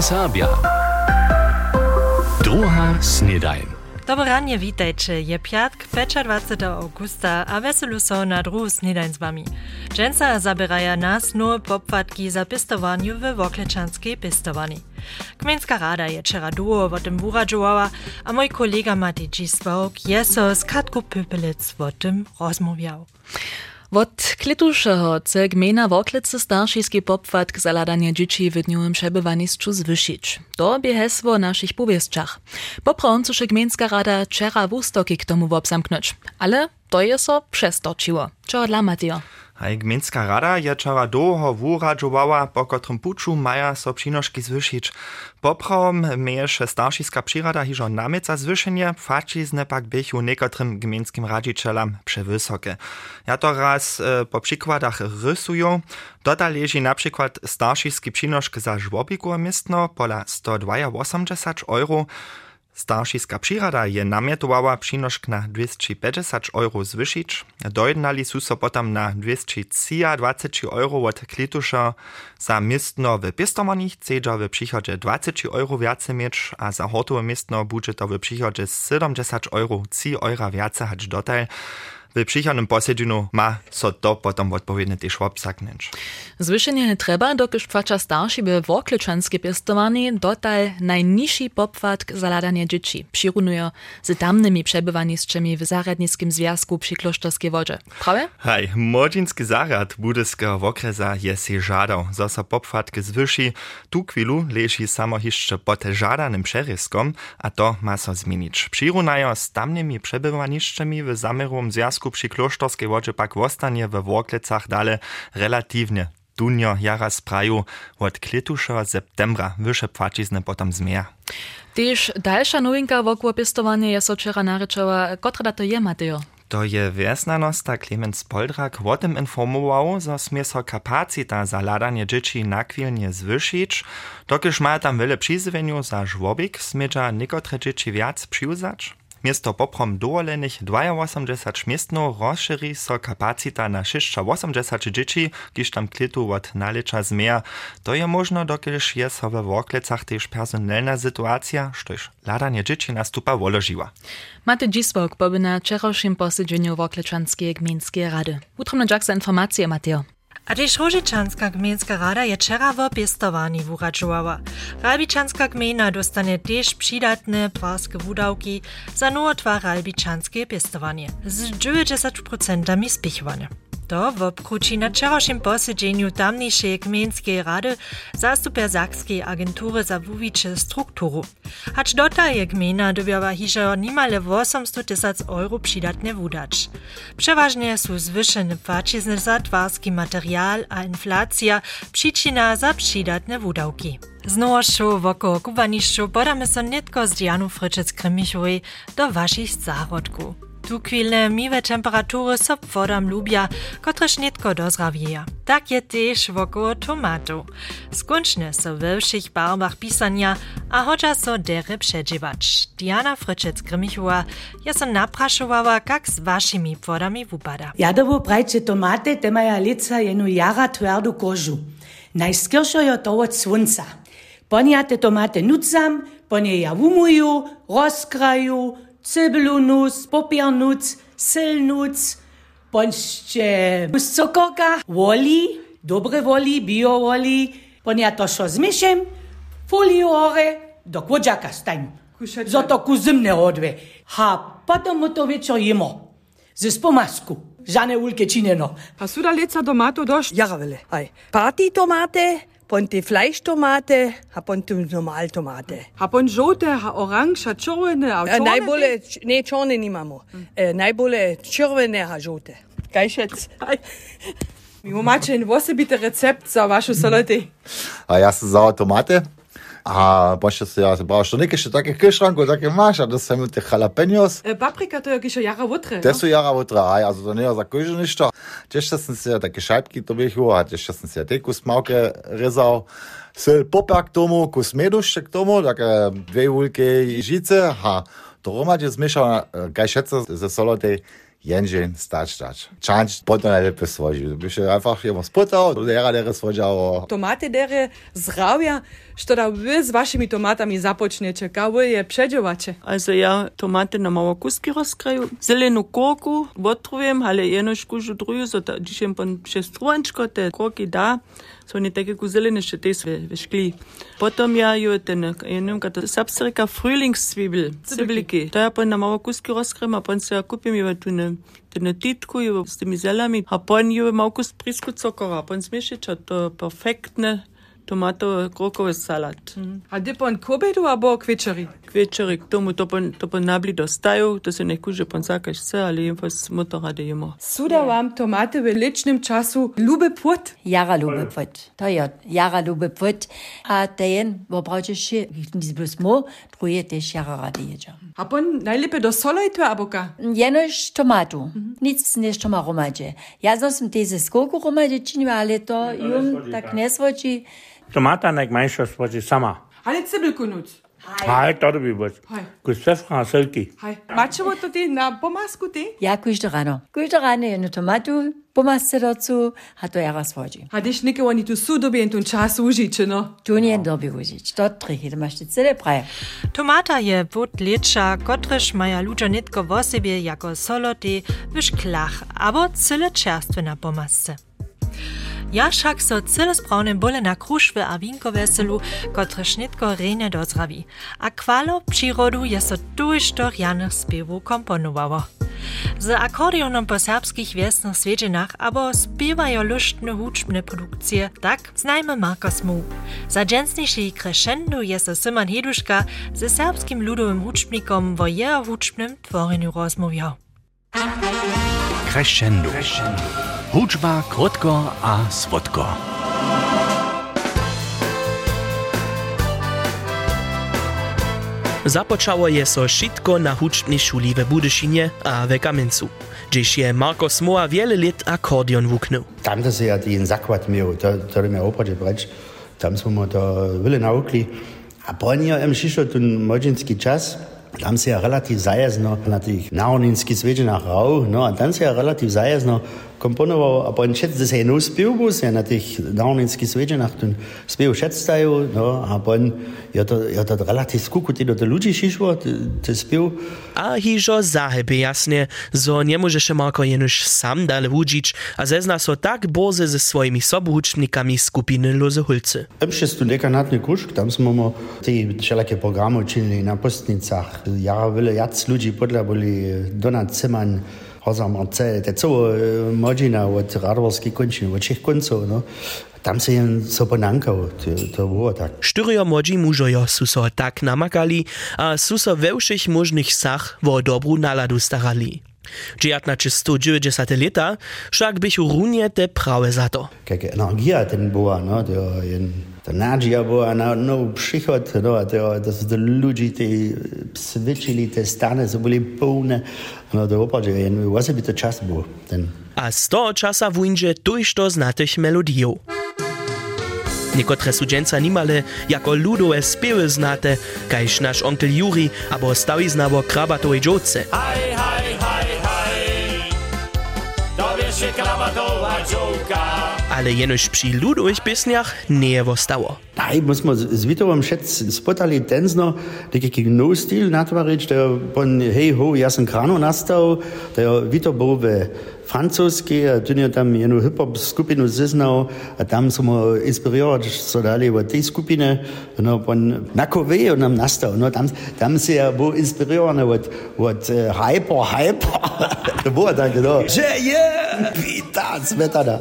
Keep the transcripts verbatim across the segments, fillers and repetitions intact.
Sabia. Druga snedajn. Dobre ranie, witajcie. Je piatk, dwudziestego augusta, a weselu so na druhu snedajn z wami. Dżęca zabieraja nas nowe popłatki za pistowaniu w Woklečanskej pistowani. Gmejnska rada je wczera duo o tym wuradżowała, a mój kolega Matej Dzisław je so z Katką Pypelec o tym rozmawiał. Od klitušeho chce gmejna Woklice staršijski popłatk za ladanie dzieci w dniowym przebywanictwu zwyšić. To bie hesło naszych powiestkach. Poprawom chce gmejnska rada wczera wustoki k tomu obsamknąć. Ale to je so přestočiło. Čo dla Mateo? Hej, gmejnska rada je wczera długo wuradżowała, po kotrym puczu maja so přinoški zwyšić. Poprawom mieješe staršijska přirada hižo namieca zwyšenie, fačizne pak běchu niekotrym gmejnskim radzicielom przewysokie. Ja to raz e, po przykładach rysuję. Dota leży na przykład staršijski přinošk za żłobiku miestno pola sto osiemdziesiąt dwa euro. Staršijska přirada je namietowała přinošk na dwieście pięćdziesiąt euro zwyšić. Dojednali su so potom na dwieście dwadzieścia euro od klituša. Za miestno w pistowani chcedza w przychodzie dwadzieścia euro więcej mieć, a za hortowe miestno bude to w przychodzie siedemdziesiąt euro, trzy euro więcej hać dotaj. W przychodnym posiedzeniu ma so to potom odpowiednio też obsaknąć. Zwyšenie nie treba, dokiż płaca starsi by Woklečanskej pistowani dotal najniższy popłatk za ladanie dzieci. Przyrunuje z tamnymi przebywanictwami w Zaradnickim Związku przy Klosztorskiej Wodzie. Prawie? Hej, młodzieński zarad budyskiego wokresa je si żadał, zo so popłatki zwyši. Tu chwilu leży samo jeszcze pod żadanym przeryskom, a to ma so zmienić. Przyrunają z tamnymi przebywanictwami w Zamerowym Związku przy Klosztorskiej Wodzie pak wostanie w Woklecach dale relatywnie dunio jara spraju od klitušeho septembra wyše płacizny potom zmija. Tyż dalsza nowinka wokół pistowania je so wczera naryczała, kotra to je, Mateo? To je wiesnanosta Klemens Poldrak o tym informował, że smie so kapacita za ladanie dzieci nakwilnie zwyšić. Dokiż ma tam wiele przyzwieniu za żłobik, smieja niekotre dzieci wiac przyuzać. Miesto poprom dowolenych osiemdziesiąt miestno rozszerzy so kapacita na osiemdziesiąt dzieci, kiż tam klitu od nalicza zmija. To je možno, dokiż je so we Woklecach też personalna sytuacja, štož ladanie dzieci nastupa woložiła. Matej Dzisław poby na wczorajszym posiedzeniu Woklečanskiej gmejnskiej rady. Utromno dziak za informacje, Mateo. A też Rožičanska gmejnska rada je wczera w pistowani wuradżowała. Ralbičanska gmejna dostanie też przydatne prarskie wudawki za nowotwa ralbičanske pistowanie z dziewięćdziesięcioma procentami spichowane. To w obkruci na wczorajszym posiedzeniu tamniejszej gmejnskiej rady zastupia Sakskiej agentury za wuwicze strukturu. Hacz dota je gmejna dobiała hižo nimale osiemset tysięcy euro przydatne wudać. Przeważnie są zwyšene płacizny za twarski materiał, a inflacja przyczyna za przydatne wudawki. Z nowością wokół kubaniszczu podamy so nitko z Dianu Fryczec-Krymichowej do waszych zárodków. Tu chwilne miłe temperatury so wodam lubia, kotreż nitko dozrawieja. Tak je też wokół tomatów. Skończne so we všich barwach pisania, a chodza so dere przedziewać. Diana Fryczec-Krymichowa je so napraszowała, jak z waszymi wodami wupada. Jadowo brajcie tomaty, te maja lica jenu jara twardu kożu. Najskierszo je to od słońca. Ponia te tomaty nucam, ponie ja umuju, rozkraju, cybelu nuc, popier nuc, syl nuc, pońście z cokorka, woli, dobre woli, bio woli, ponia to šo zmiešem, foliju hore, do kłodziaka stań. Zoto ku zimne odve. Ha, potom mu to večer jemo. Ze spomasku. Žane ulke činjeno. Pa su da leca tomato došt? Jaravele, aj. Party tomate, ponte Fleischtomate, a ponte normal tomate. Ha pon žote, ha oranž, ha červene, a E, čorne? najbolje, ne, čorne nimamo. E, najbolje červene, a žote. Kaj šec? Aj. Mi macie en osobity recept za vašu solety. A ja sam za tomate. A pošto se ja brao što neke še take kišranku, take maš, a da sam te jalapenos. E, paprika to je kiša jara votre. Te su jara utra, aj, also to nije za kožu ništa. Tešće sam se take šajpki to bihu, a tešće sam se te kus mauke rezao. Syl poprak tomu, kus medušće k tomu, take dve ulke i žice, a to romadje zmiešao, kaj šeca ze solotej Jędzień, stać, stać. Czanć, potem najlepiej słodził. By się einfach jemu spytał, lera, lera słodział. Tomaty dere zdrawia, što da wy z waszymi tomatami zapoczniecie, kały je przedzielacie. Also ja tomaty na małe kuski rozkraju, zeleną kurku odtrujem, ale jenoś kužu druju, so da dzisiaj pan przez truančko te kurki da, so nie takie ku zelene še te ve škli. Potom ja ju ten, ja neviem, kata sapsterika frühlingszwiebel, cibeliki. To ja pan na małe kuski rozkrajem, a pan se ja kupim ju tu ne, ne titku ju s tymi zelami, a pan ju małe kus prisku cukora, pan zmiešić, a to perfektne tomato krokowy salat. Mm. A ty pan k obedu albo k večeri? K večeri, k tomu to pan, to pan nabli dostajú, to se neku, že pan zakaž chce, ale jedenfalls mu to rade jemo. Suda vám tomaty v ličnym času lube put? Jara lube put. To je, jara lube put. A ten, bo pravče še, nic plus mo, truje tež jara rade jeđa. A pan najlepe do solejtu albo ka? Jenož tomatu. Mm-hmm. Nic než toma romadže. Ja som teze skoku romadže činila, ale to jum tak nesvoči. Tomata najmanjša svoji sama. Ale cibelku nuc. Haj, to bi bilo. Kus pfefra a selki. Haj. Mačevo to ti na pomasku ti? Ja, kužde rano. Kužde rano jednu tomatu, pomasce dazu, a to jara svoji. A když neke oni tu su dobi en tu čas užiče, no? Tu njen dobi užič. To trihi, da maš ti cele praje. Tomata je wód lecza, kotryż maja ludzie nitko w sobie jako soloty w szklach, abo cyle czerstwe na pomasce. Ja však so cyle sprawne bole na kruszwy a winko weselu, kotryż nitko rejne dozrawi. A kwalo przyrodu je so tuż do rjanych spiewów komponowało. Z akordionom po serbskich wiesnych swiedzinach abo spiewają luštne hučbne produkcje, tak znajmy Marcos Mu. Za dżęsniejszy crescendo je so Simon Heduška ze serbskim ludowym hučbnikom wo jeho hučbnym tworeniu rozmawiał. Crescendo. Hučba krótko a słodko. Započało je so šitko na hučbnej šuli v Budyšinie a v Kamencu, gdzieś je Marcos Moa wiele lat akordeon wuknął. Tam to se ja ten zakład miał, to, to mi opradzie brać, tam smo to wiele naukli. A po niej im przyszło ten młodzieński czas, tam se ja relativ zajazno na tych narodninskich swiedzinach rał, no a tam se ja relativ zajazno komponował, a po szedł se jedną spiewbu, se na tych narodninskich swiedzinach ten spiew szedstają, no a po ja to, ja to relativ skukuty do ludzi przyszło, ten spiew. A hižo zahebe jasne, zo nie może się Marko jenoż sam dale wudzić, a zezna so tak boze ze swoimi sobuhucznikami skupiny Loze Hulce. Przez ten dekanatny kuszk, tam smo te wszelakie programy uczynili na postnicach. Ja wiele jac ludzi podle byli Donat Ziman, Hoza Marcel, te całe młodzina od Radworskiej kończyny, od trzech końców, no. Tam se jen so ponankał, to, to było tak. Štyrio młodzi mužojo su so tak namakali, a su so we všich možných sach vo dobru naladu starali. sto dziewięćdziesiąte lata však bychu runie te prawe za to. Jaka energia ten była, no, to jen, to nadzieja była na nowy przychód, no, to, to są te ludzi, te switchili, te stany, so byli pełne, no, to opravdu, jen właśnie by to czas był, ten. A z toho časa wujdzie tuż to znatych melodijów. Niekotre sudženca nimale jako ludowe spiewy znate, kajž nasz onkel Juri abo stawiznabo krabatowej dżoce. Haj, haj, haj, haj, to wiesz się krabatowa dżołka. Ale jenož przy ludowych piesniach nie wostało. Daj, musimy z Witowem szedć spotali tenzno, taki no styl natwarić, der pon hej ho jasen krano nastał, der Wito był we francuski, a tu nie tam jedną hip-hop skupinu zeznał, a tam smo inspiriert, so dali od tej skupiny, no pon nakowe on nam nastał, no tam, tam se ja był inspirowany od, od uh, hyper, hyper, to było tak, no, że je, wita, smetana.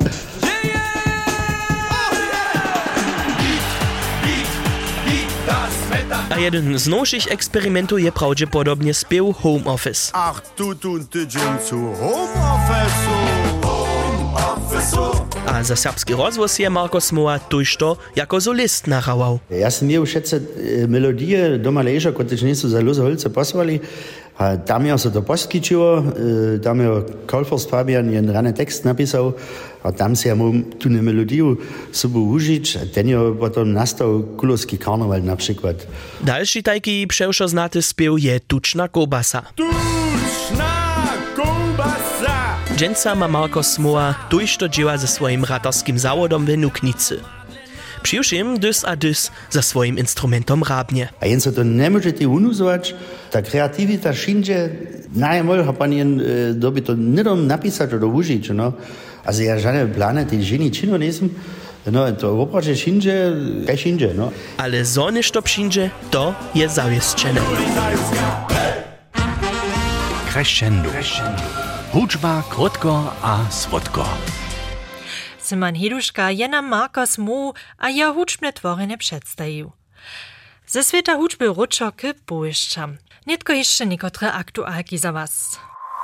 A jeden z nowszych eksperymentów je prawdopodobnie spiew Home Office. Ach, tu tu tydzień zu Home Office'u. Home Office'u. A za serbski rozwoz je Marcos Moa tuż to jako solist nachawał. Ja sam miał szedce melodie doma leża, które nie są za Loze Hulce posłali. A tam ja so to poskiczyło, tam ja Kolfors Fabian jen rany tekst napisał, a tam se ja mógł tu ne melodię sobie użyć, a ten ja potem nastał Kulowski karneval na przykład. Dalszy taki przewszo znaty spiew je Tuczna kobasa. Tuczna kobasa. Dżęca ma Marko Smoła tojšto dzieła ze swoim ratarskim zawodom w Nuknicy. Přiwšim dys a dys za swoim instrumentom rabnie. A jen se to nie możete unuzować, ta kreativita wszędzie, najmol, ha pan jen e, doby to nie dom napisać oder użyć, no. Also ja żadne plany tej ženi činu nesem, no to oprače wszędzie, kaj wszędzie, no. Ale zo nešto wszędzie, to je zawieszczone. Crescendo. Hudžba krótko a słodko. Simon Heduška je nam Marko Smoł a ja hudžbne tworene předstajił. Ze sveta hudžby ručo k bojišćam. Nitko jeszcze niekotre aktualki za was.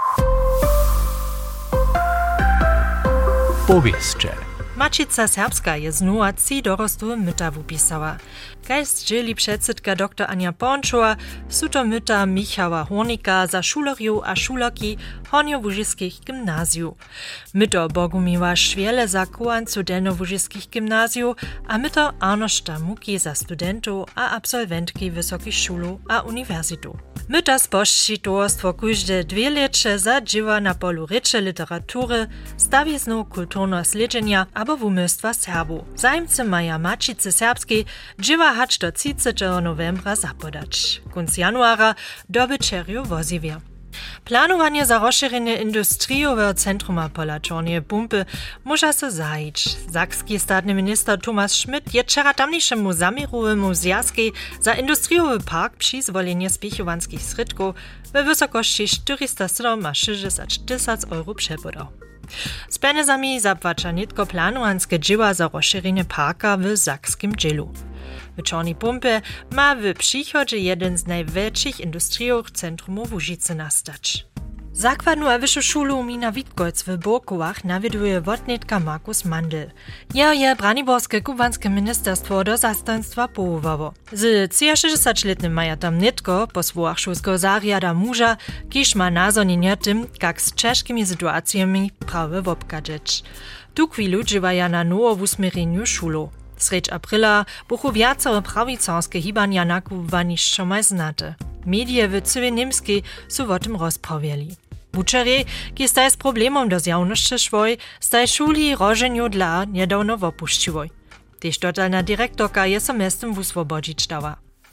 Powieszcze. Mačica Serbska je znowa trzy dorostłe myta wupisała. Kajst dzieli předsydka doktor Anja Pončova, su to myta Michała Hornika za šulerju a šulerki Hornjo-Łużyskich gimnazjów. Myto Bogumiła Szwiele za kołancu Delno-Łużyskich gimnazjów, a myto Arnošta Muki za studentów a absolwentki wysokich szulu a uniwersytu. Myta spošći towarstwo kóžde dwie lecze za dzieła na polu reče literatury, stawiznu kulturno sledženja abo wumystwa Serbu. Zajmcy maja Mačice Serbskiej dzieła hacz do trzydziestego novembra zapodać. Kunc januara dobyczerju woziwie. Planowanie za rozszerzenie industriowego centruma pola Czornie Pumpy może się zajić. Sakski statny minister Thomas Schmidt je wczoraj tamniejszemu zamierowemu zjazki za industriowy park przyzwolenie spichowanskich sredków we wysokości czterysta sześćdziesiąt tysięcy euro przepodał. Z pieniędzmi zapłacza nitko planowanskie dzieła za rozszerzenie parka w sakskim dzielu. W Czornej Pumpie ma w przychodzie jeden z największych industriowych centrumów Łużycy nastać. Zakładnu a wyższą szulu Mina Witkolc w Borkowach nawieduje wotnitka Markus Mandl. Jeho je Braniborskie kubanskie ministerstwo do zastępstwa połowowo. Z sześćdziesięcioletnim maja tam nitko po słowach szulskiego zariada muża, kiż ma nazonienie tym, jak z czeskimi sytuacjami prawy wobkadzeć. Tu chwilu dziewaja na nowo w usmiereniu szulu. Sredź aprila buchu wiacore prawicarskie hibania nakupowani šomaj znate. Medije w cyłej Niemskiej su o tym rozprawiali. Wučerje, ki staj z problemom do zjawności szwoj, staj szuli rożeniu dla niedawno opuściłoj. Tež totalna direktorka je so mestem wuswobodzić dała.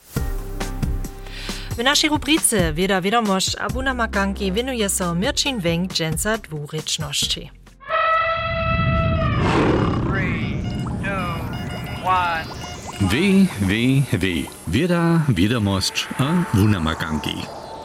W naszej rubrice Wieda Wiadomość a Buna Makanki winuje so Mirčin Wenk dżęca dwuryczności. Wie, wie, wie. Wieda, Wiadomość a Buna Makanki.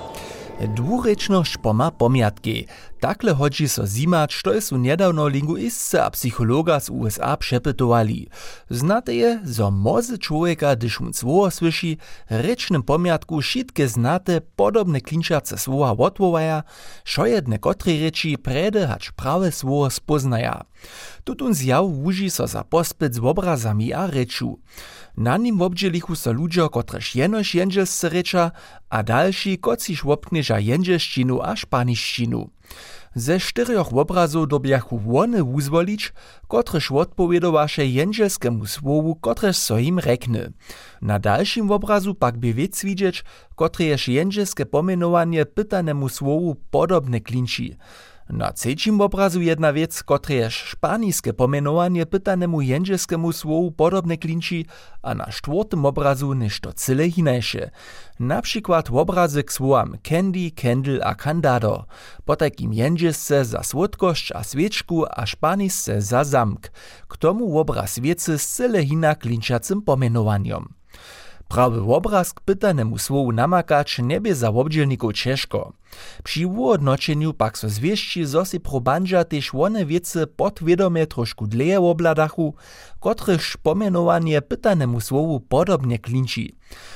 Dwurečnosť poma pomiatki. Takle hodzi so zimać, što je su nedawno linguistce a psychologa z U S A přepytovali. Znate je, zo mozy człowieka, gdyż mu słowo słyši, rečnym pomiatku šitke znate podobne klinčace słowa wotwowaja, šo jedne kotrej reči prede hacz prawe słowo spoznaja. Tutun zjaw wuži so za pospyt z obrazami a reču. Na nim wobdzielichu so ludzie, kotrež jenož jędźelsce reča, a dalsi, kociž wopkneža jędźelščinu a španiščinu. Ze czterech obrazów dobiachu wone wuzwolić, kotrež odpowiedowaše jędźelskemu słowu, kotrež so im rekne. Na dalszym obrazu pak by wiec widzieć, kotrež jędźelskie pomenowanie pytanemu słowu podobne klinči. Na trzecim obrazu jedna wiec, kotrež španiskie pomenowanie pytanemu jędźelskemu słowu podobne klinči, a na czwartym obrazu nešto cyle hinajsze. Na przykład obrazy k słowam candy, candle a candado, po takim jędźelsce za słodkość a świeczku a španisce za zamk. K tomu obraz wiecy z cyle hina klinčacym pomenowaniom. Prawy obraz k pytanemu słowu namakać niebie za obdzielników ciężko. Przy uodnoczeniu pak so zwieści, zo si probandža tež one wiece podwiedomie trošku dleje obladachu, kotryż pomenowanie pytanemu słowu podobnie klinči.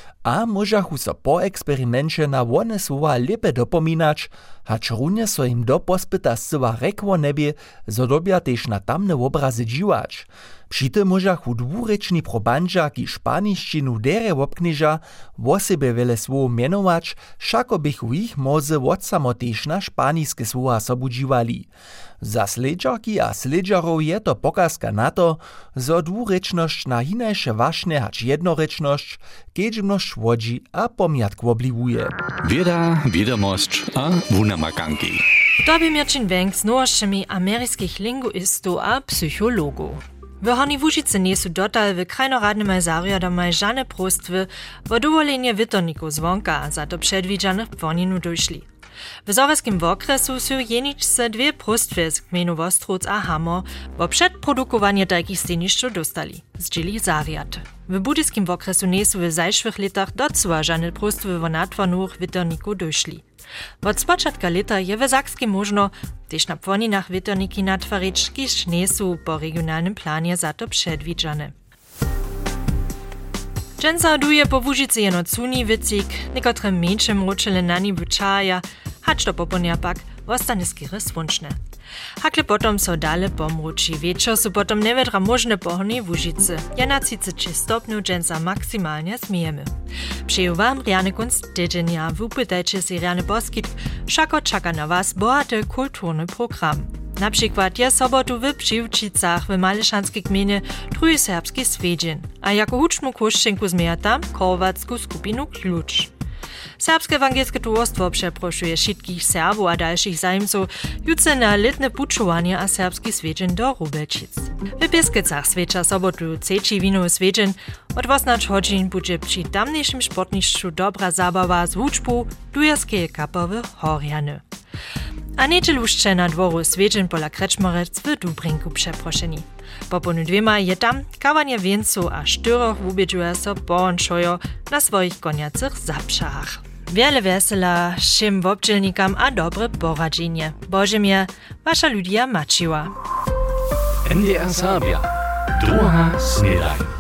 A możachu so po eksperimencie na one słowa lepe dopominać, hacz runie so im do pospyta zcyła rekło nebie, zo dobia tež na tamne obrazy dziwać. Przy tym możachu dwurečni probandža, ki španiščinu dere wopkneža, wo sebe wiele słow mianować, šako bychu ich moze od samotež na španiske słowa sobu dziwali. Za sledžarki a sledžarov je to pokazka na to, zo dwurečnosť na hinajše wašne hacz jednorečnosť, kedźbnosť wodzi a pomiatk obliwuje. Wieda, Wiadomość a Buna Makanki. W dobie mierczyn węg z nowościami ameryckich linguistów a psychologów. W Hornej Łužicy niesu dotal w krajnoradnym zariadom żadne prostwy o dowolenie witorników zwonka, a za to przedwidzianych płoninu doszli. W zoreskim okresu są jeniczce dwie prostwy z gminu Wostróc a Hamor, bo przedprodukowanie takich steniszczów dostali, zdzieli zariad. W budyskim okresu niesu w zajszłych latach docła żadne prostwy o natwornych witorników doszli. Od spočatka leta je w Sakskim možno też na płoninach witorniki natwarić, kiż niesu po regionalnym planie za to przedwidziane. Dżęca duje po Łužicy jeno cuni wycik, niekotre mniejsze mroczele na nibu czaja, hacz to poponia pak ostane skiery słonczne. Hakle potom so dale pomruči. Wieczor su potom nevedra možne po Hornej Łužicy. Ja na trzydzieści trzy stopniu dżęca maksymalnie zmijemy. Přeju wam riane kunst tydzienia. Wupytajcie si riane boskit, všako čaka na was bohaty kulturny program. Na przykład je sobotu w Přiwčicach w Malešanskiej gminie drugi serbski swiedzień, a jako huczmu koszczynku zmieja tam korwacku skupinu Klucz. Serbskie Ewangelskie Towarstwo przeproszuje wszystkich Serbów a dalszych zajemców jutro na letne puczowanie a serbski swiedzień do Rubelčic. W Pieskecach swecza sobotu trzeci winowy swiedzień. Od osmnastej godzin będzie przy tamniejszym sportniszczu dobra zabawa z wuczbu dujerskie kapowe Horjany. A niedzielu na dworu swiedzień pola Kreczmorec w Dubrinku przeproszeni. Po ponu dwiema je tam kawanie więcu a sztyroch ubiedziuje so połączojo na swoich koniacych zapszach. Wiele wesela všim wobdźelnikam a dobre poradzenie. Bożemie, wasza Lidia Maciła. N D R Serbia. Druga snedaj.